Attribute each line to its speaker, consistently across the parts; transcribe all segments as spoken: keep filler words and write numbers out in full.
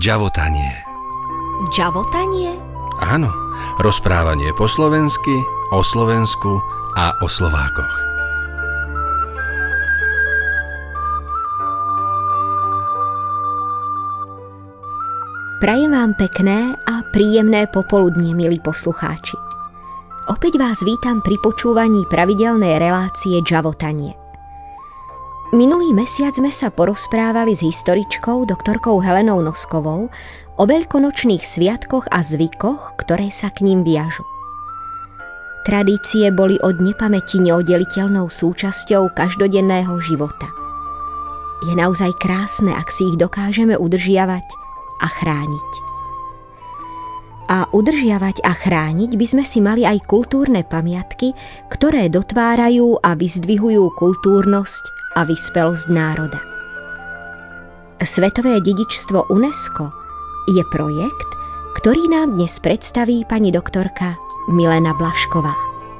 Speaker 1: Džavotanie.
Speaker 2: Džavotanie?
Speaker 1: Áno, rozprávanie po slovensky, o Slovensku a o Slovákoch.
Speaker 2: Prajem vám pekné a príjemné popoludnie, milí poslucháči. Opäť vás vítam pri počúvaní pravidelnej relácie Džavotanie. Minulý mesiac sme sa porozprávali s historičkou doktorkou Helenou Noskovou o veľkonočných sviatkoch a zvykoch, ktoré sa k ním viažu. Tradície boli od nepamäti neoddeliteľnou súčasťou každodenného života. Je naozaj krásne, ak si ich dokážeme udržiavať a chrániť. A udržiavať a chrániť by sme si mali aj kultúrne pamiatky, ktoré dotvárajú a vyzdvihujú kultúrnosť a vyspelosť národa. Svetové dedičstvo UNESCO je projekt, ktorý nám dnes predstaví pani doktorka Milena Blašková.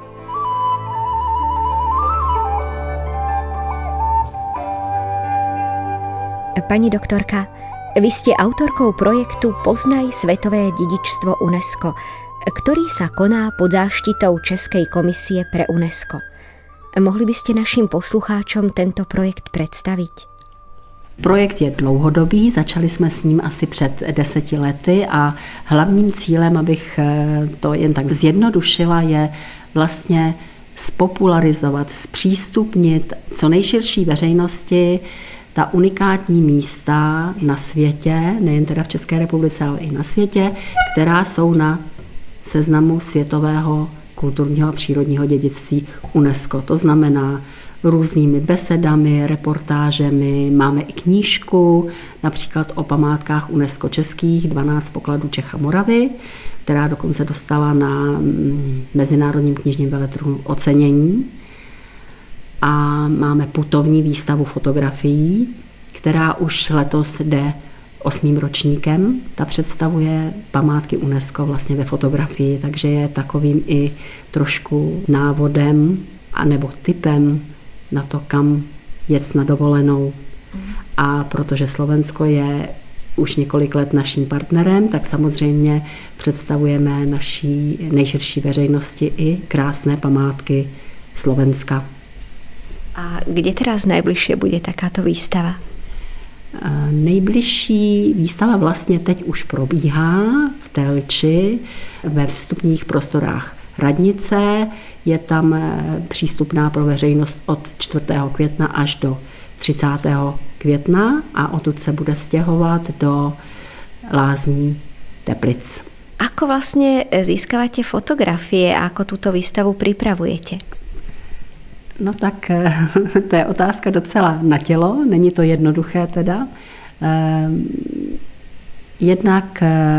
Speaker 2: Pani doktorka, vy ste autorkou projektu Poznaj svetové dedičstvo UNESCO, ktorý sa koná pod záštitou Českej komisie pre UNESCO. Mohli by ste našim poslucháčom tento projekt představit?
Speaker 3: Projekt je dlouhodobý, začali jsme s ním asi před deseti lety a hlavním cílem, abych to jen tak zjednodušila, je vlastně spopularizovat, zpřístupnit co nejširší veřejnosti ta unikátní místa na světě, nejen teda v České republice, ale i na světě, která jsou na seznamu světového kulturního a přírodního dědictví UNESCO. To znamená různými besedami, reportážemi, máme i knížku, například o památkách UNESCO českých, dvanáct pokladů Čech a Moravy, která dokonce dostala na Mezinárodním knižním veletrhu ocenění. A máme putovní výstavu fotografií, která už letos jde osmým ročníkem. Ta představuje památky UNESCO vlastně ve fotografii, takže je takovým i trošku návodem anebo tipem na to, kam jet na dovolenou. A protože Slovensko je už několik let naším partnerem, tak samozřejmě představujeme naší nejširší veřejnosti i krásné památky Slovenska.
Speaker 2: A kde teraz najbližšie bude takáto výstava?
Speaker 3: Nejbližší výstava vlastně teď už probíhá v Telči ve vstupních prostorách radnice. Je tam přístupná pro veřejnost od čtvrtého května až do třicátého května a odtud se bude stěhovat do Lázní Teplic.
Speaker 2: Ako vlastně získavate fotografie a ako túto výstavu pripravujete?
Speaker 3: No tak to je otázka docela na tělo, není to jednoduché teda. Jednak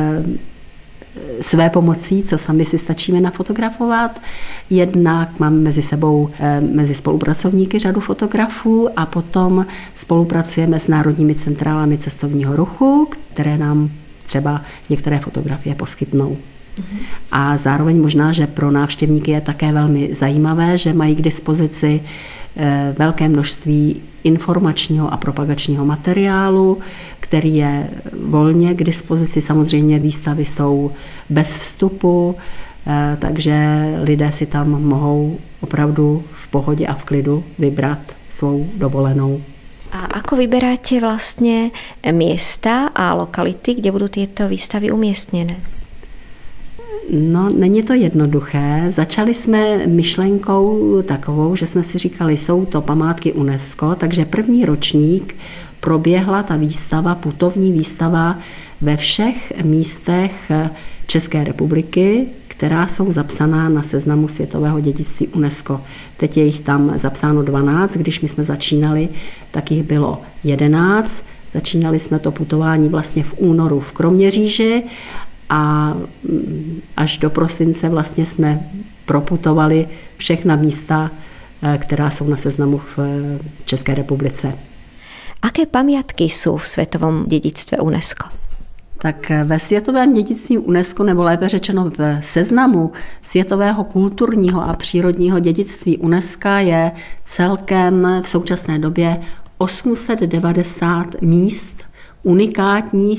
Speaker 3: své pomocí, co sami si stačíme nafotografovat, jednak máme mezi sebou, mezi spolupracovníky řadu fotografů a potom spolupracujeme s národními centrálami cestovního ruchu, které nám třeba některé fotografie poskytnou. A zároveň možná, že pro návštěvníky je také velmi zajímavé, že mají k dispozici velké množství informačního a propagačního materiálu, který je volně k dispozici. Samozřejmě výstavy jsou bez vstupu, takže lidé si tam mohou opravdu v pohodě a v klidu vybrat svou dovolenou.
Speaker 2: A ako vyberáte vlastně miesta a lokality, kde budou tyto výstavy umiestněné?
Speaker 3: No, není to jednoduché. Začali jsme myšlenkou takovou, že jsme si říkali, jsou to památky UNESCO, takže první ročník proběhla ta výstava, putovní výstava ve všech místech České republiky, která jsou zapsaná na seznamu světového dědictví UNESCO. Teď je jich tam zapsáno dvanáct, když my jsme začínali, tak jich bylo jedenáct. Začínali jsme to putování vlastně v únoru v Kroměříži a až do prosince vlastně jsme proputovali všechna místa, která jsou na seznamu v České republice.
Speaker 2: Aké pamiatky jsou v světovém dědictví UNESCO?
Speaker 3: Tak ve světovém dědictví UNESCO, nebo lépe řečeno v seznamu světového kulturního a přírodního dědictví UNESCO je celkem v současné době osm set devadesát míst unikátních,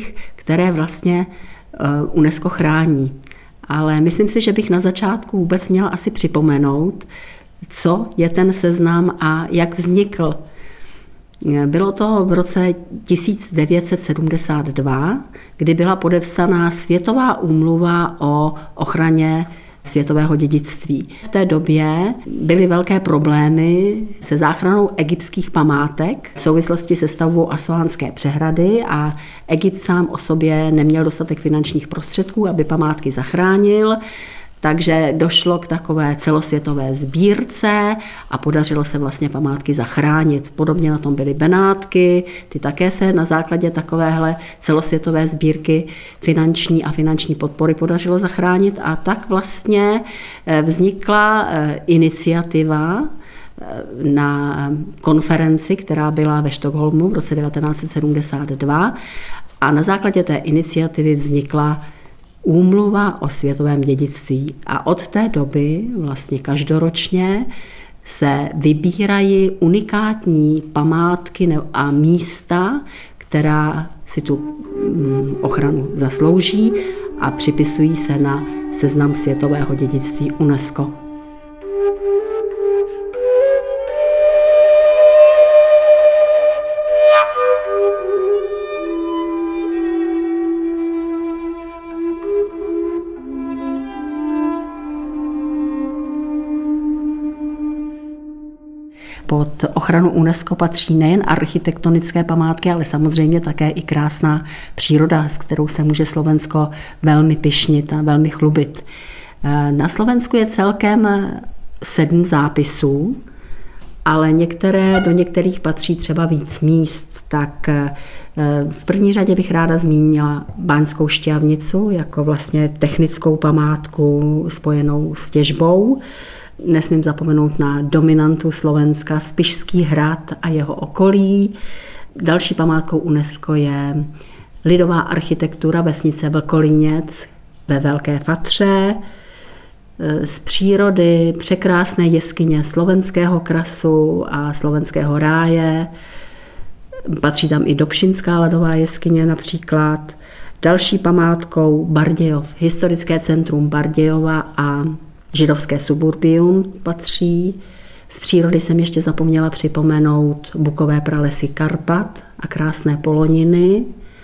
Speaker 3: které vlastně UNESCO chrání. Ale myslím si, že bych na začátku vůbec měla asi připomenout, co je ten seznam a jak vznikl. Bylo to v roce tisíc devět set sedmdesát dva, kdy byla podepsaná Světová úmluva o ochraně světového dědictví. V té době byly velké problémy se záchranou egyptských památek v souvislosti se stavbou Assuánské přehrady a Egypt sám o sobě neměl dostatek finančních prostředků, aby památky zachránil. Takže došlo k takové celosvětové sbírce a podařilo se vlastně památky zachránit. Podobně na tom byly Benátky, ty také se na základě takovéhle celosvětové sbírky finanční a finanční podpory podařilo zachránit a tak vlastně vznikla iniciativa na konferenci, která byla ve Stockholmu v roce devatenáct set sedmdesát dva a na základě té iniciativy vznikla Úmluva o světovém dědictví. A od té doby vlastně každoročně se vybírají unikátní památky a místa, která si tu ochranu zaslouží a připisují se na seznam světového dědictví UNESCO. Pod ochranu UNESCO patří nejen architektonické památky, ale samozřejmě také i krásná příroda, s kterou se může Slovensko velmi pyšnit a velmi chlubit. Na Slovensku je celkem sedm zápisů, ale některé, do některých patří třeba víc míst. Tak v první řadě bych ráda zmínila Baňskou Štiavnicu jako vlastně technickou památku spojenou s těžbou. Nesmím zapomenout na dominantu Slovenska, Spišský hrad a jeho okolí. Další památkou UNESCO je lidová architektura vesnice Vlkolíněc ve Velké Fatře. Z přírody překrásné jeskyně Slovenského krasu a Slovenského ráje. Patří tam i Dobšinská ledová jeskyně například. Další památkou Bardějov, historické centrum Bardějova a židovské suburbium patří. Z přírody jsem ještě zapomněla připomenout bukové pralesy Karpat a krásné poloniny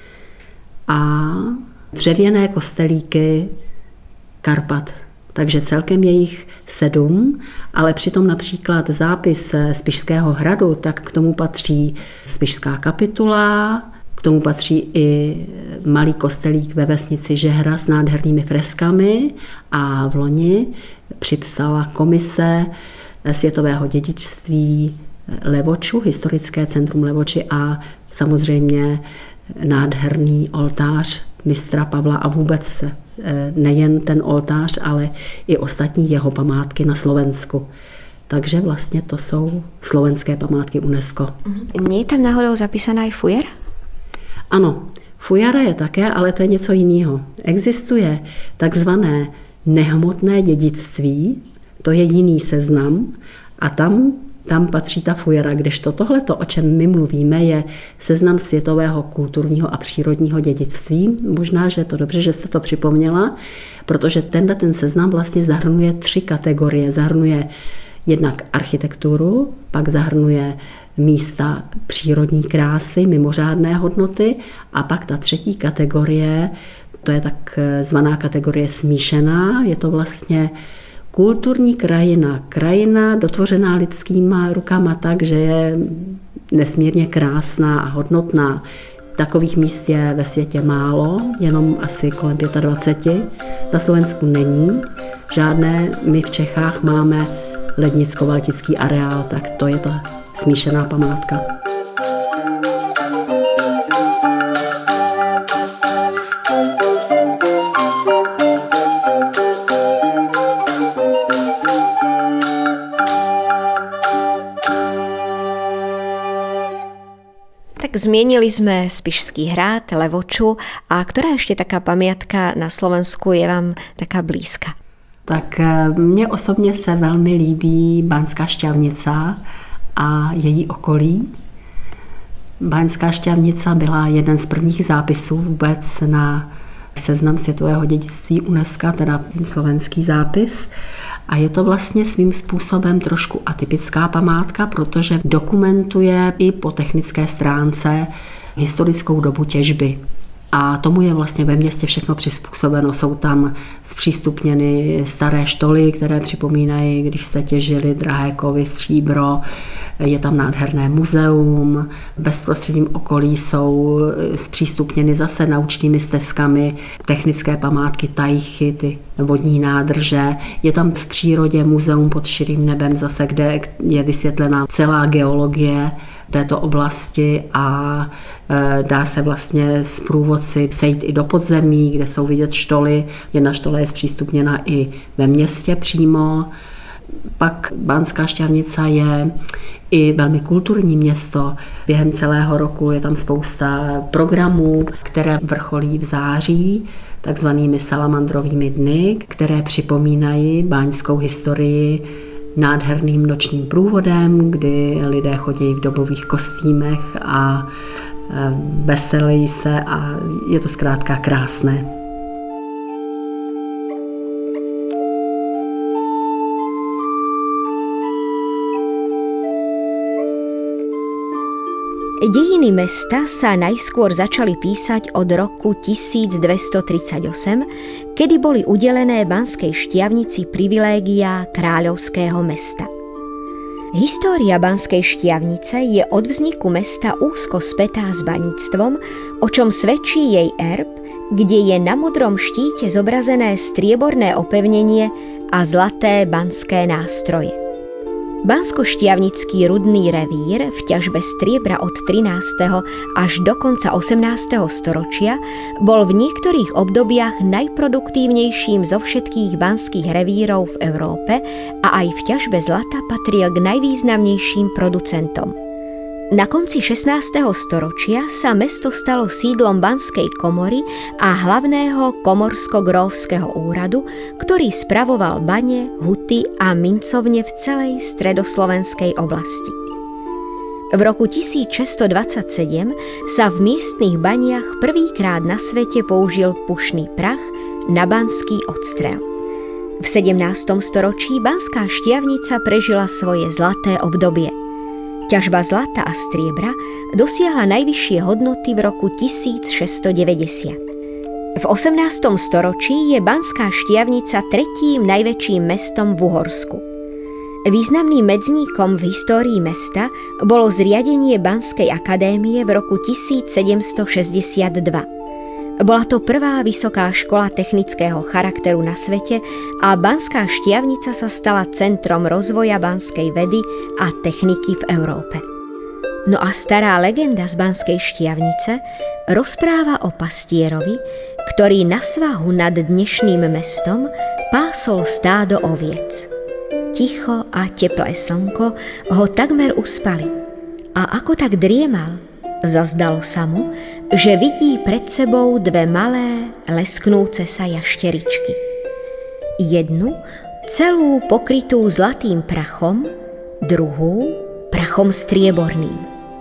Speaker 3: a dřevěné kostelíky Karpat. Takže celkem je jich sedm, ale přitom například zápis Spišského hradu, tak k tomu patří Spišská kapitula, k tomu patří i malý kostelík ve vesnici Žehra s nádhernými freskami a v loni připsala komise světového dědictví Levoču, historické centrum Levoči a samozřejmě nádherný oltář mistra Pavla a vůbec nejen ten oltář, ale i ostatní jeho památky na Slovensku. Takže vlastně to jsou slovenské památky UNESCO.
Speaker 2: Nie je tam náhodou zapísaná i Fujara?
Speaker 3: Ano, Fujara je také, ale to je něco jiného. Existuje takzvané nehmotné dědictví, to je jiný seznam a tam, tam patří ta Fujara, kdežto tohleto, o čem my mluvíme, je seznam světového kulturního a přírodního dědictví. Možná, že je to dobře, že jste to připomněla, protože tenhle ten seznam vlastně zahrnuje tři kategorie. Zahrnuje jednak architekturu, pak zahrnuje místa přírodní krásy, mimořádné hodnoty a pak ta třetí kategorie, to je tak zvaná kategorie smíšená, je to vlastně kulturní krajina, krajina dotvořená lidskýma rukama tak, že je nesmírně krásná a hodnotná. Takových míst je ve světě málo, jenom asi kolem dvacet pět. Na Slovensku není žádné, my v Čechách máme Lednicko-Valtický areál, tak to je ta smíšená památka.
Speaker 2: Tak zmienili sme Spišský hrad, Levoču a ktorá ešte taká pamiatka na Slovensku je vám taká blízka?
Speaker 3: Tak mně osobně se velmi líbí Baňská Štiavnica a její okolí. Báňská Štiavnica byla jeden z prvních zápisů vůbec na seznam světového dědictví UNESCO, teda slovenský zápis. A je to vlastně svým způsobem trošku atypická památka, protože dokumentuje i po technické stránce historickou dobu těžby. A tomu je vlastně ve městě všechno přizpůsobeno. Jsou tam zpřístupněny staré štoly, které připomínají, když se těžili drahé kovy, stříbro. Je tam nádherné muzeum. V bezprostředním okolí jsou zpřístupněny zase naučnými stezkami technické památky, tajchy, ty vodní nádrže. Je tam v přírodě muzeum pod širým nebem zase, kde je vysvětlená celá geologie této oblasti a dá se vlastně s průvodci sejít i do podzemí, kde jsou vidět štoly. Jedna štola je zpřístupněna i ve městě přímo. Pak Banská Štiavnica je i velmi kulturní město. Během celého roku je tam spousta programů, které vrcholí v září, takzvanými salamandrovými dny, které připomínají báňskou historii nádherným nočním průvodem, kdy lidé chodí v dobových kostýmech a veselí se a je to zkrátka krásné.
Speaker 2: Dejiny mesta sa najskôr začali písať od roku tisícdvestotridsaťosem, kedy boli udelené Banskej Štiavnici privilégiá kráľovského mesta. História Banskej Štiavnice je od vzniku mesta úzko spätá s baníctvom, o čom svedčí jej erb, kde je na modrom štíte zobrazené strieborné opevnenie a zlaté banské nástroje. Banskoštiavnický rudný revír v ťažbe striebra od trinásteho až do konca osemnásteho storočia bol v niektorých obdobiach najproduktívnejším zo všetkých banských revírov v Európe a aj v ťažbe zlata patril k najvýznamnejším producentom. Na konci šestnásteho storočia sa mesto stalo sídlom banskej komory a hlavného komorsko-grófskeho úradu, ktorý spravoval bane, huty a mincovne v celej stredoslovenskej oblasti. V roku tisícšesťstodvadsaťsedem sa v miestnych baniach prvýkrát na svete použil pušný prach na banský odstrel. V sedemnástom storočí Banská Štiavnica prežila svoje zlaté obdobie. Ťažba zlata a striebra dosiahla najvyššie hodnoty v roku tisícšesťstodeväťdesiat. V osemnástom storočí je Banská Štiavnica tretím najväčším mestom v Uhorsku. Významným medzníkom v histórii mesta bolo zriadenie Banskej akadémie v roku tisícsedemstošesťdesiatdva. Bola to prvá vysoká škola technického charakteru na svete a Banská Štiavnica sa stala centrom rozvoja banskej vedy a techniky v Európe. No a stará legenda z Banskej Štiavnice rozpráva o pastierovi, ktorý na svahu nad dnešným mestom pásol stádo oviec. Ticho a teplé slnko ho takmer uspali a ako tak driemal, zazdalo sa mu, že vidí pred sebou dve malé, lesknúce sa jašteričky. Jednu, celú pokrytú zlatým prachom, druhú, prachom strieborným.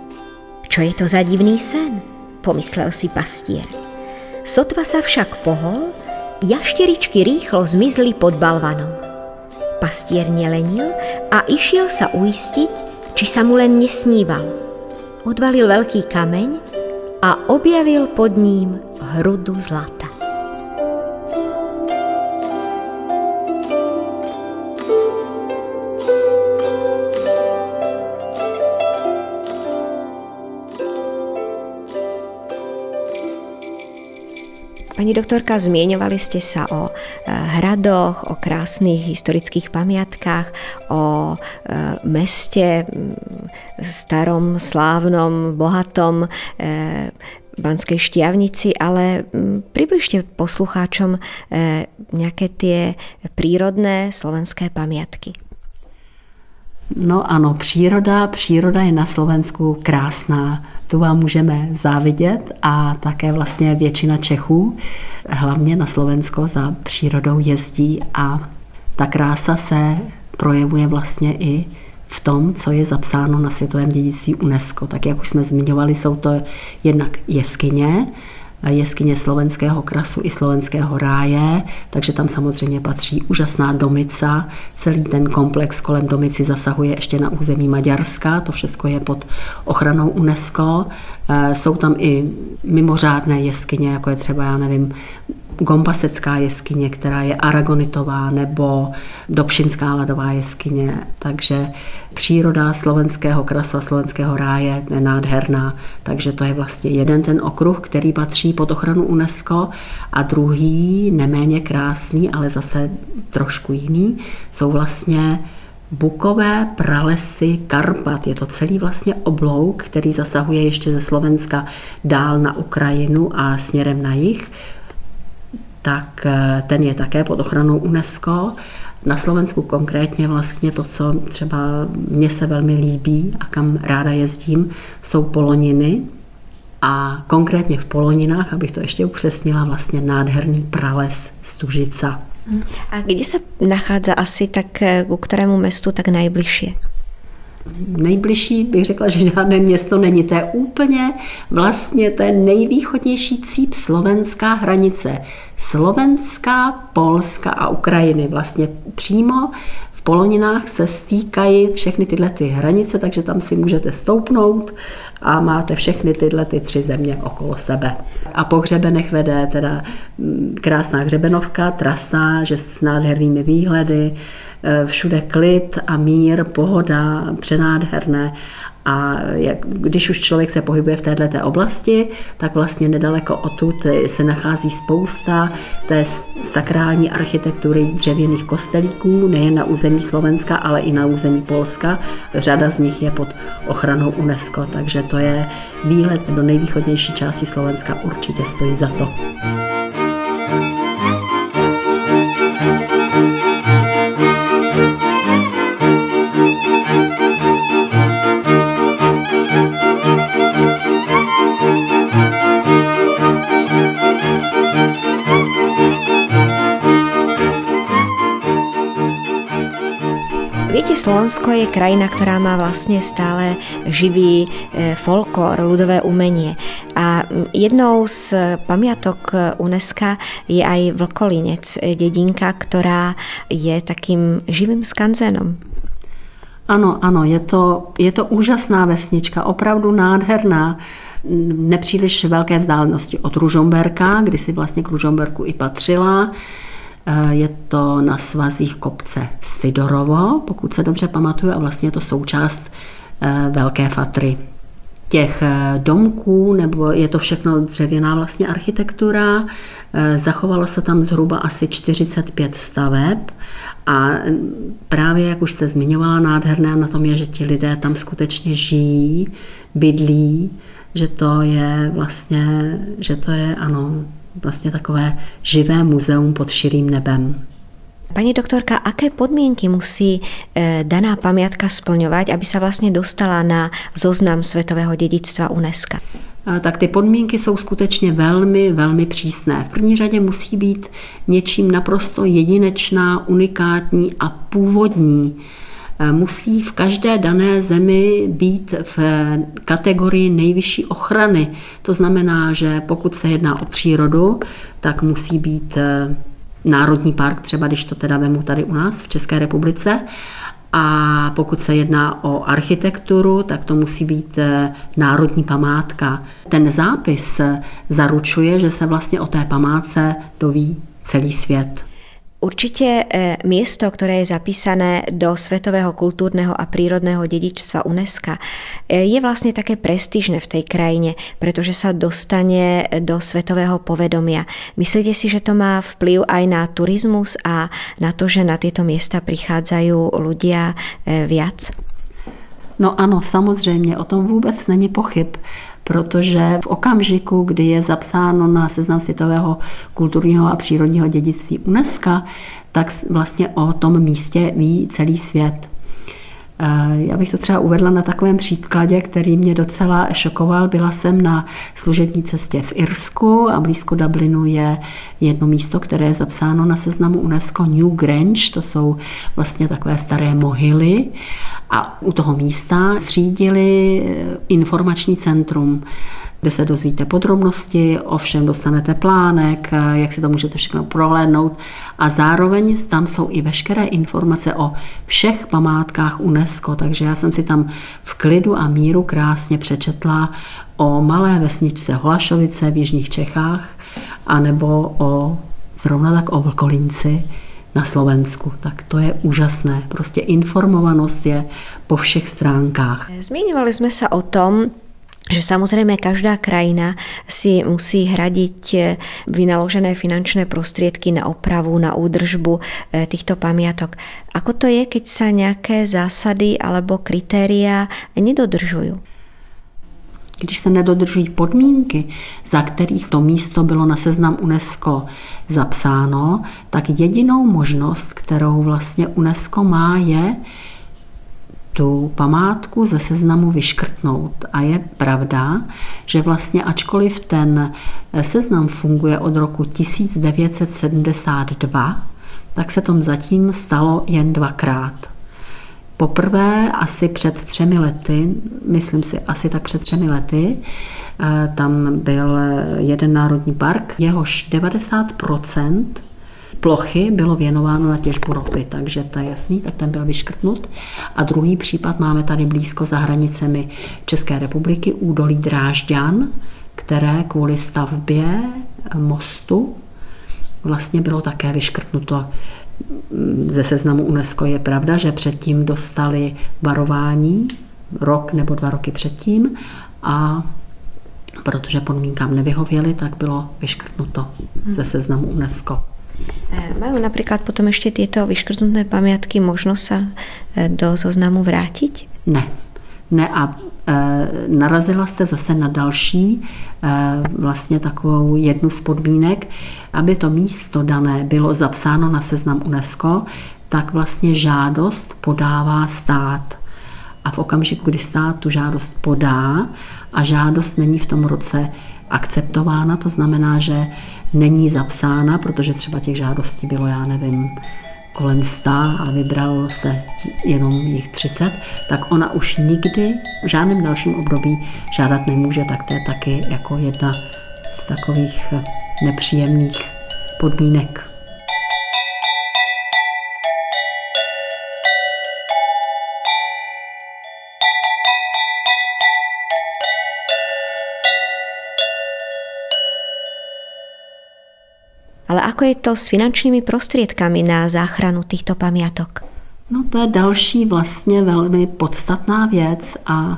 Speaker 2: Čo je to za divný sen? Pomyslel si pastier. Sotva sa však pohol, jašteričky rýchlo zmizli pod balvanom. Pastier nelenil a išiel sa uistiť, či sa mu len nesníval. Odvalil veľký kameň a objavil pod ním hrudu zlata. Pani doktorka, zmieňovali ste sa o hradoch, o krásnych historických pamiatkách, o meste starom, slávnom, bohatom Banskej Štiavnici, ale približte poslucháčom nejaké tie prírodné slovenské pamiatky.
Speaker 3: No ano, příroda, příroda je na Slovensku krásná. Tu vám můžeme závidět a také vlastně většina Čechů, hlavně na Slovensko, za přírodou jezdí a ta krása se projevuje vlastně i v tom, co je zapsáno na světovém dědictví UNESCO. Tak jak už jsme zmiňovali, jsou to jednak jeskyně, jeskyně Slovenského krasu i Slovenského ráje, takže tam samozřejmě patří úžasná Domica. Celý ten komplex kolem Domici zasahuje ještě na území Maďarska, to všechno je pod ochranou UNESCO. Jsou tam i mimořádné jeskyně, jako je třeba, já nevím, Gombasecká jeskyně, která je aragonitová, nebo Dobšinská ladová jeskyně. Takže příroda Slovenského krasu a Slovenského ráje je nádherná. Takže to je vlastně jeden ten okruh, který patří pod ochranu UNESCO, a druhý, neméně krásný, ale zase trošku jiný, jsou vlastně bukové pralesy Karpat. Je to celý vlastně oblouk, který zasahuje ještě ze Slovenska dál na Ukrajinu a směrem na jih. Tak ten je také pod ochranou UNESCO. Na Slovensku konkrétně vlastně to, co třeba mně se velmi líbí a kam ráda jezdím, jsou Poloniny. A konkrétně v Poloninách, abych to ještě upřesnila, vlastně nádherný prales Stužica.
Speaker 2: A kde se nachádza asi tak, ku ktorému mestu tak najbližšie?
Speaker 3: Nejbližší bych řekla, že žádné město není. To je úplně vlastně ten nejvýchodnější cíp slovenská hranice. Slovenská, Polska a Ukrajiny. Vlastně přímo v Poloninách se stýkají všechny tyhle ty hranice, takže tam si můžete stoupnout a máte všechny tyhle ty tři země okolo sebe. A po hřebenech vede teda krásná hřebenovka, trasa, že s nádhernými výhledy, všude klid a mír, pohoda, přenádherné. A jak, když už člověk se pohybuje v této oblasti, tak vlastně nedaleko odtud se nachází spousta té sakrální architektury dřevěných kostelíků, nejen na území Slovenska, ale i na území Polska. Řada z nich je pod ochranou UNESCO, takže to je výlet do nejvýchodnější části Slovenska, určitě stojí za to.
Speaker 2: Viete, Slovensko je krajina, ktorá má vlastne stále živý folklór, ľudové umenie. A jednou z pamiatok UNESCO je aj Vlkolínec, dedinka, ktorá je takým živým skanzenom.
Speaker 3: Ano, ano, je to, je to úžasná vesnička, opravdu nádherná. Nepříliš velké vzdálenosti od Ružomberka, kdy si vlastně k Ružomberku i patřila. Je to na svazích kopce Sidorovo, pokud se dobře pamatuju, a vlastně je to součást Velké Fatry. Těch domků, nebo je to všechno dřevěná vlastně architektura, zachovalo se tam zhruba asi čtyřicet pět staveb a právě, jak už jste zmiňovala, nádherné na tom je, že ti lidé tam skutečně žijí, bydlí, že to je vlastně, že to je, ano, vlastně takové živé muzeum pod širým nebem.
Speaker 2: Pani doktorka, aké podmienky musí e, daná pamiatka splňovať, aby sa vlastne dostala na zoznam Svetového dedičstva UNESCO?
Speaker 3: Tak ty podmínky jsou skutečně velmi, velmi přísné. V první řadě musí být něčím naprosto jedinečná, unikátní a původní. Musí v každé dané zemi být v kategorii nejvyšší ochrany. To znamená, že pokud se jedná o přírodu, tak musí být národní park, třeba když to teda vemu tady u nás v České republice. A pokud se jedná o architekturu, tak to musí být národní památka. Ten zápis zaručuje, že se vlastně o té památce doví celý svět.
Speaker 2: Určite miesto, ktoré je zapísané do Svetového kultúrneho a prírodného dedičstva UNESCO, je vlastne také prestížne v tej krajine, pretože sa dostane do svetového povedomia. Myslíte si, že to má vplyv aj na turizmus a na to, že na tieto miesta prichádzajú ľudia viac?
Speaker 3: No ano, samozřejmě, o tom vůbec není pochyb, protože v okamžiku, kdy je zapsáno na seznam světového kulturního a přírodního dědictví UNESCO, tak vlastně o tom místě ví celý svět. Já bych to třeba uvedla na takovém příkladě, který mě docela šokoval. Byla jsem na služební cestě v Irsku a blízko Dublinu je jedno místo, které je zapsáno na seznamu UNESCO New Grange. To jsou vlastně takové staré mohyly. A u toho místa zřídili informační centrum, kde se dozvíte podrobnosti, ovšem dostanete plánek, jak si to můžete všechno prohlédnout a zároveň tam jsou i veškeré informace o všech památkách UNESCO, takže já jsem si tam v klidu a míru krásně přečetla o malé vesničce Holašovice v jižních Čechách anebo o zrovna tak o Vlkolínci na Slovensku. Tak to je úžasné. Prostě informovanost je po všech stránkách.
Speaker 2: Zmiňovali sme sa o tom, že samozrejme každá krajina si musí hradiť vynaložené finančné prostriedky na opravu, na údržbu týchto pamiatok. Ako to je, keď sa nejaké zásady alebo kritériá nedodržujú?
Speaker 3: Když se nedodržují podmínky, za kterých to místo bylo na seznam UNESCO zapsáno, tak jedinou možnost, kterou vlastně UNESCO má, je tu památku ze seznamu vyškrtnout. A je pravda, že vlastně ačkoliv ten seznam funguje od roku tisíc devět set sedmdesát dva, tak se tom zatím stalo jen dvakrát. Poprvé asi před třemi lety, myslím si asi tak před třemi lety, tam byl jeden národní park, jehož devadesát procent plochy bylo věnováno na těžbu ropy, takže to je jasný, tak ten byl vyškrtnut. A druhý případ máme tady blízko za hranicemi České republiky, údolí Drážďan, které kvůli stavbě mostu vlastně bylo také vyškrtnuto ze seznamu UNESCO. Je pravda, že předtím dostali varování, rok nebo dva roky předtím, a protože podmínkám nevyhověli, tak bylo vyškrtnuto ze seznamu UNESCO.
Speaker 2: Majú napríklad potom ešte tieto vyškrtnuté pamiatky možnosť sa do zoznamu vrátiť?
Speaker 3: Ne. Ne a e, narazila jste zase na další e, vlastně takovou jednu z podmínek, aby to místo dané bylo zapsáno na seznam UNESCO, tak vlastně žádost podává stát. A v okamžiku, kdy stát tu žádost podá a žádost není v tom roce akceptována, to znamená, že není zapsána, protože třeba těch žádostí bylo, já nevím, kolem sta a vybralo se jenom jich třicet, tak ona už nikdy v žádném dalším období žádat nemůže, tak to je taky jako jedna z takových nepříjemných podmínek.
Speaker 2: Ale ako je to s finančnými prostriedkami na záchranu týchto pamiatok?
Speaker 3: No to je další vlastně velmi podstatná věc a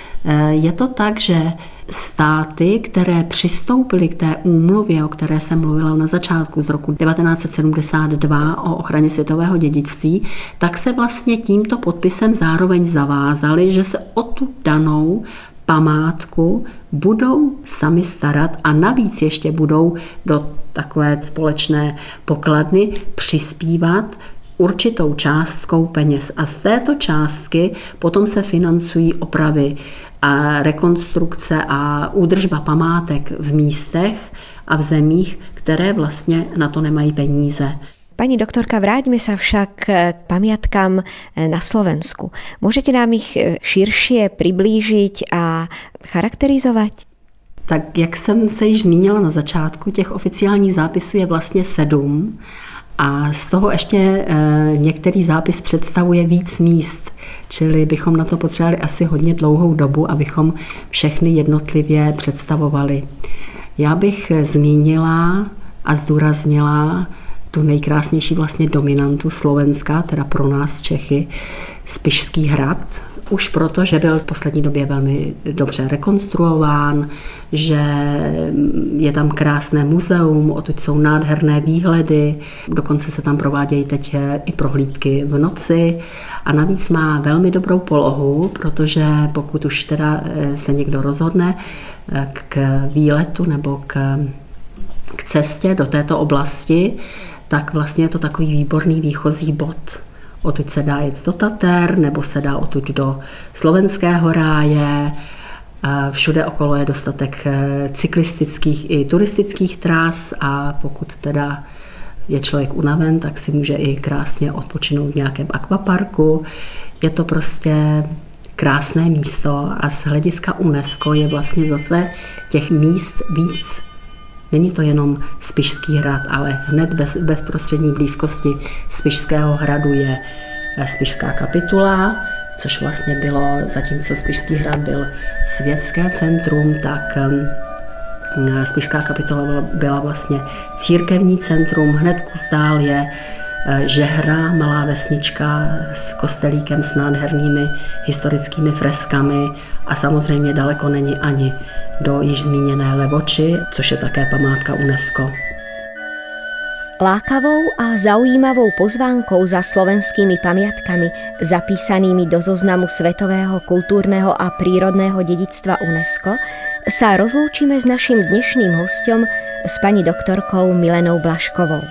Speaker 3: je to tak, že státy, které přistoupily k té úmluvě, o které jsem mluvila na začátku z roku devatenáct set sedmdesát dva o ochraně světového dědictví, tak se vlastně tímto podpisem zároveň zavázali, že se o tu danou památku budou sami starat a navíc ještě budou do takové společné pokladny přispívat určitou částkou peněz. A z této částky potom se financují opravy a rekonstrukce a údržba památek v místech a v zemích, které vlastně na to nemají peníze.
Speaker 2: Pani doktorka, vráťme sa však k pamiatkám na Slovensku. Môžete nám ich širšie priblížiť a charakterizovať?
Speaker 3: Tak jak jsem se již zmínila na začátku, těch oficiálních zápisů je vlastně sedm a z toho ještě e, některý zápis představuje víc míst, čili bychom na to potřebovali asi hodně dlouhou dobu, abychom všechny jednotlivě představovali. Já bych zmínila a zdůraznila tu nejkrásnější vlastně dominantu Slovenska, teda pro nás Čechy, Spišský hrad. Už proto, že byl v poslední době velmi dobře rekonstruován, že je tam krásné muzeum, odtud jsou nádherné výhledy, dokonce se tam provádějí teď i prohlídky v noci a navíc má velmi dobrou polohu, protože pokud už teda se někdo rozhodne k výletu nebo k, k cestě do této oblasti, tak vlastně je to takový výborný výchozí bod. Odtud se dá jet do Tater, nebo se dá odtud do Slovenského ráje. Všude okolo je dostatek cyklistických i turistických tras a pokud teda je člověk unaven, tak si může i krásně odpočinout v nějakém akvaparku. Je to prostě krásné místo a z hlediska UNESCO je vlastně zase těch míst víc. Není to jenom Spišský hrad, ale hned bez bezprostřední blízkosti Spišského hradu je Spišská kapitula, což vlastně bylo, zatímco Spišský hrad byl světské centrum, tak Spišská kapitula byla vlastně církevní centrum. Hned kus dál je Žehra, malá vesnička s kostelíkem s nádhernými historickými freskami a samozřejmě daleko není ani do již zmíněné Levoči, což je také památka UNESCO.
Speaker 2: Lákavou a zaujímavou pozvánkou za slovenskými pamiatkami zapísanými do zoznamu Svetového kultúrneho a prírodného dedičstva UNESCO sa rozlúčime s naším dnešným hosťom, s pani doktorkou Milenou Blažkovou.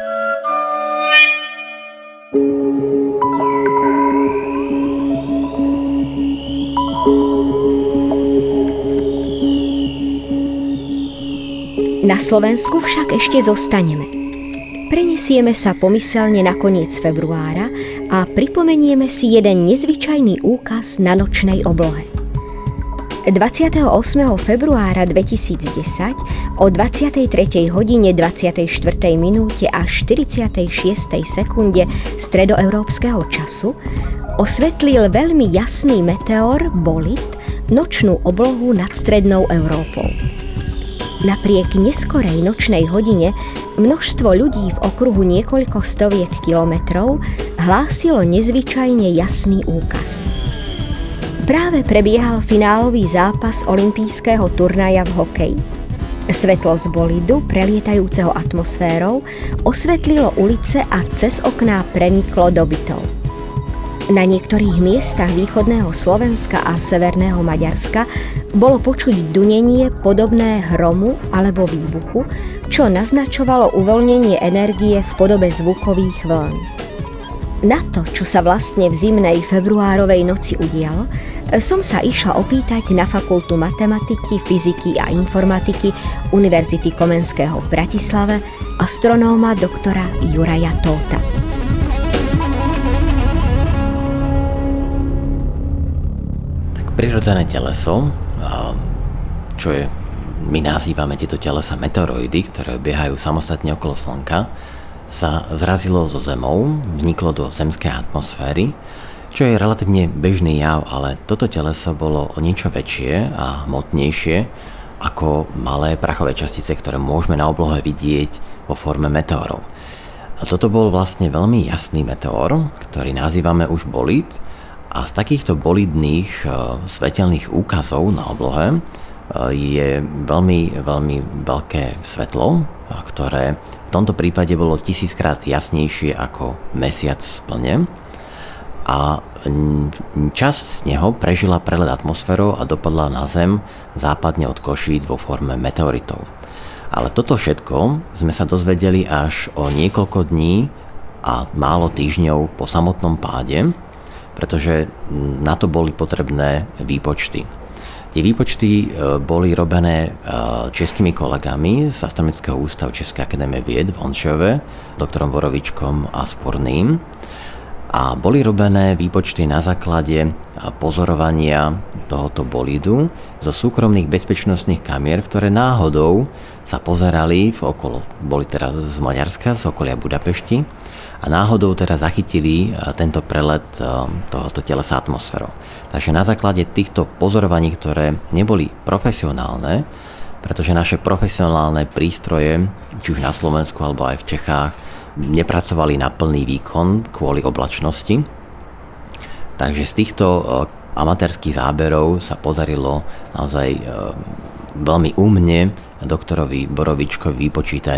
Speaker 2: Na Slovensku však ešte zostaneme. Prenesieme sa pomyselne na koniec februára a pripomenieme si jeden nezvyčajný úkaz na nočnej oblohe. dvadsiateho ôsmeho februára dvetisícdesať o dvadsiatej tretej hodine dvadsiatej štvrtej minúte a štyridsiatej šiestej sekunde stredoeurópskeho času osvetlil veľmi jasný meteor Bolit nočnú oblohu nad strednou Európou. Napriek neskorej nočnej hodine množstvo ľudí v okruhu niekoľko stoviek kilometrov hlásilo nezvyčajne jasný úkaz. Práve prebiehal finálový zápas olympijského turnaja v hokeji. Svetlo z bolidu, prelietajúceho atmosférou, osvetlilo ulice a cez okná preniklo do bytov. Na niektorých miestach východného Slovenska a severného Maďarska bolo počuť dunenie podobné hromu alebo výbuchu, čo naznačovalo uvoľnenie energie v podobe zvukových vln. Na to, čo sa vlastne v zimnej februárovej noci udialo, som sa išla opýtať na Fakultu matematiky, fyziky a informatiky Univerzity Komenského v Bratislave astronóma doktora Juraja Tóta.
Speaker 4: Prirodzené teleso, čo je, my nazývame tieto telesa meteoroidy, ktoré obiehajú samostatne okolo Slnka, sa zrazilo so Zemou, vzniklo do zemskej atmosféry, čo je relatívne bežný jav, ale toto teleso bolo o niečo väčšie a hmotnejšie ako malé prachové častice, ktoré môžeme na oblohe vidieť vo forme meteorov. A toto bol vlastne veľmi jasný meteor, ktorý nazývame už Bolit. A z takýchto bolidných svetelných úkazov na oblohe je veľmi, veľmi veľké svetlo, ktoré v tomto prípade bolo tisíckrát jasnejšie ako mesiac v plne. A časť z neho prežila prelet atmosférou a dopadla na Zem západne od Košíc vo forme meteoritov. Ale toto všetko sme sa dozvedeli až o niekoľko dní a málo týždňov po samotnom páde, pretože na to boli potrebné výpočty. Tie výpočty boli robené českými kolegami z Astronomického ústavu Českej akadémie vied v Honšove, doktorom Borovičkom a Sporným. A boli robené výpočty na základe pozorovania tohoto bolidu zo súkromných bezpečnostných kamier, ktoré náhodou sa pozerali v okolo, boli teda z Maďarska, z okolia Budapešti, a náhodou teda zachytili tento prelet tohoto telesa atmosférou. Takže na základe týchto pozorovaní, ktoré neboli profesionálne, pretože naše profesionálne prístroje, či už na Slovensku alebo aj v Čechách, nepracovali na plný výkon kvôli oblačnosti. Takže z týchto amatérských záberov sa podarilo naozaj veľmi úmne doktorovi Borovičkovi vypočítať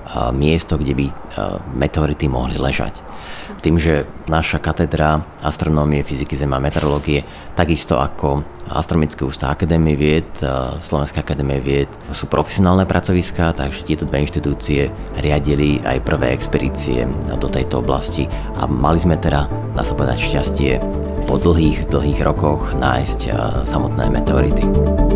Speaker 4: miesto, kde by meteority mohli ležať. Tým, že naša katedra astronómie, fyziky, zeme a meteorológie, takisto ako Astronomický ústav Akadémie vied, Slovenská akadémie vied, sú profesionálne pracoviská, takže tieto dve inštitúcie riadili aj prvé expedície do tejto oblasti a mali sme teda, dá sa povedať, šťastie po dlhých, dlhých rokoch nájsť samotné meteority.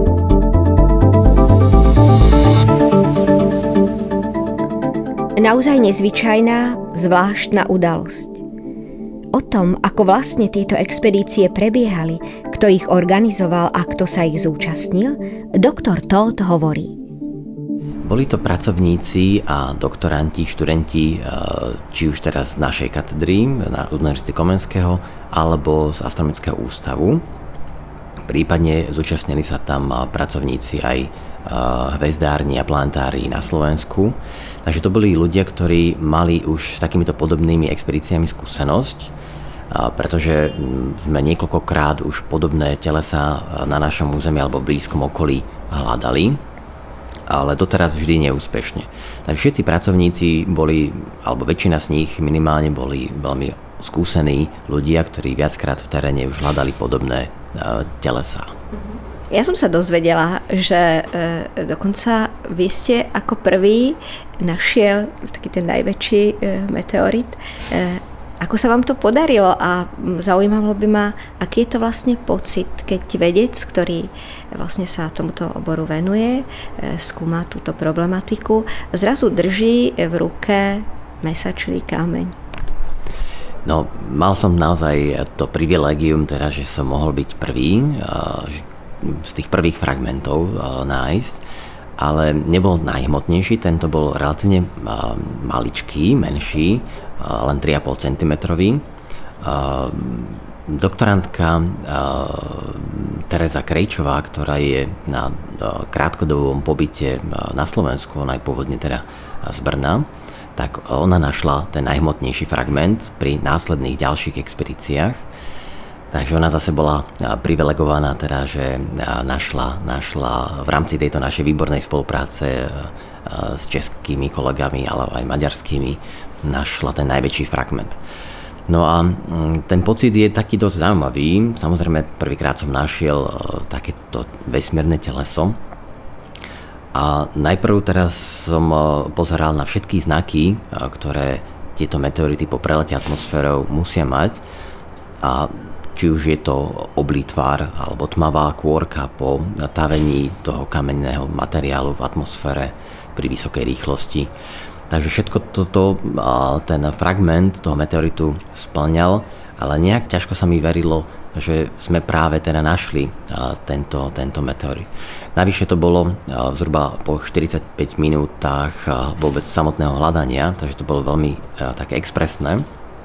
Speaker 2: Naozaj nezvyčajná, zvláštna udalosť. O tom, ako vlastne tieto expedície prebiehali, kto ich organizoval a kto sa ich zúčastnil, doktor Todt hovorí.
Speaker 4: Boli to pracovníci a doktoranti, študenti, či už teraz z našej katedry na Univerzity Komenského alebo z Astronomického ústavu. Prípadne zúčastnili sa tam pracovníci aj hvezdárni a planetárií na Slovensku. Takže to boli ľudia, ktorí mali už s takýmito podobnými expedíciami skúsenosť, pretože sme niekoľkokrát už podobné telesa na našom území alebo v blízkom okolí hľadali, ale doteraz vždy neúspešne. Takže všetci pracovníci boli, alebo väčšina z nich minimálne boli veľmi skúsení ľudia, ktorí viackrát v teréne už hľadali podobné telesá.
Speaker 2: Ja som sa dozvedela, že e, dokonca vy ste ako prvý našiel taký ten najväčší e, meteorit. E, ako sa vám to podarilo a zaujímalo by ma, aký je to vlastne pocit, keď vedec, ktorý vlastne sa tomuto oboru venuje, e, skúma túto problematiku, zrazu drží v ruke mesačný kameň.
Speaker 4: No, mal som naozaj to privilégium, teda, že som mohol byť prvý, že z tých prvých fragmentov nájsť, ale nebol najhmotnejší, tento bol relatívne maličký, menší, len tri a pol centimetra. Doktorantka Tereza Krejčová, ktorá je na krátkodobom pobyte na Slovensku, ona je pôvodne teda z Brna, tak ona našla ten najhmotnejší fragment pri následných ďalších expedíciách. Takže ona zase bola privilegovaná, teda, že našla, našla v rámci tejto našej výbornej spolupráce s českými kolegami, ale aj maďarskými, našla ten najväčší fragment. No a ten pocit je taký dosť zaujímavý. Samozrejme, prvýkrát som našiel takéto vesmírne teleso. A najprv teraz som pozeral na všetky znaky, ktoré tieto meteority po prelete atmosférou musia mať. A či už je to oblý tvar alebo tmavá kôrka po tavení toho kamenného materiálu v atmosfére pri vysokej rýchlosti. Takže všetko toto, ten fragment toho meteoritu spĺňal, ale nejak ťažko sa mi verilo, že sme práve teda našli tento, tento meteorit. Navyše to bolo zhruba po štyridsaťpäť minútach vôbec samotného hľadania, takže to bolo veľmi také expresné.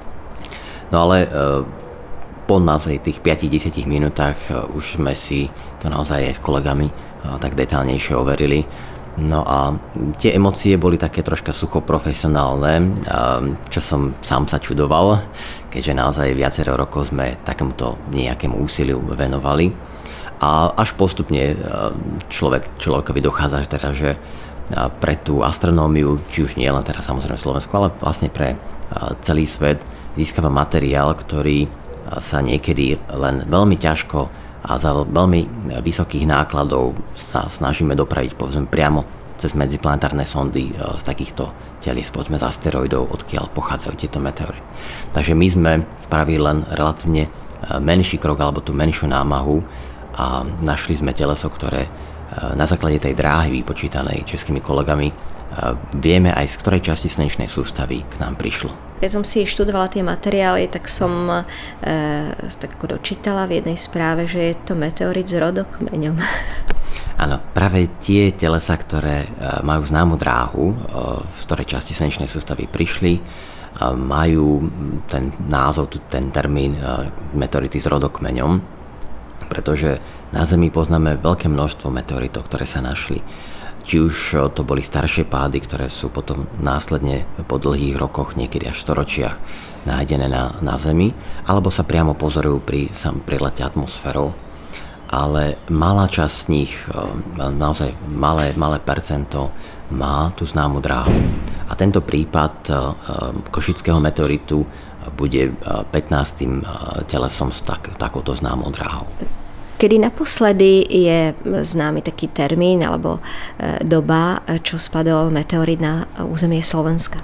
Speaker 4: No ale po naozaj tých päť až desať minútach už sme si to naozaj aj s kolegami tak detailnejšie overili. No a tie emócie boli také troška sucho profesionálne, čo som sám sa čudoval, keďže naozaj viacero rokov sme takémuto nejakému úsiliu venovali. A až postupne človek, človekovi dochádza, teda, že pre tú astronómiu, či už nie len teraz samozrejme Slovensku, ale vlastne pre celý svet získava materiál, ktorý sa niekedy len veľmi ťažko a za veľmi vysokých nákladov sa snažíme dopraviť povedzme priamo cez medziplanetárne sondy z takýchto telies, povedzme z asteroidov, odkiaľ pochádzajú tieto meteority. Takže my sme spravili len relatívne menší krok alebo tú menšiu námahu a našli sme teleso, ktoré na základe tej dráhy vypočítanej českými kolegami vieme aj z ktorej časti slnečnej sústavy k nám prišlo.
Speaker 2: Keď som si študovala tie materiály, tak som e, tak ako dočítala v jednej správe, že je to meteorit s rodokmeňom.
Speaker 4: Áno, práve tie telesa, ktoré majú známu dráhu, v ktorej časti slnečnej sústavy prišli, majú ten názov, ten termín meteority s rodokmeňom, pretože na Zemi poznáme veľké množstvo meteoritov, ktoré sa našli. Či už to boli staršie pády, ktoré sú potom následne po dlhých rokoch, niekedy až storočiach, nájdené na, na Zemi, alebo sa priamo pozorujú pri, sam, pri lete atmosférou. Ale malá časť z nich, naozaj malé, malé percento, má tú známu dráhu. A tento prípad košického meteoritu bude pätnástym telesom s tak, takouto známou dráhou.
Speaker 2: Kedy naposledy je známy taký termín alebo doba, čo spadol meteorit na územie Slovenska?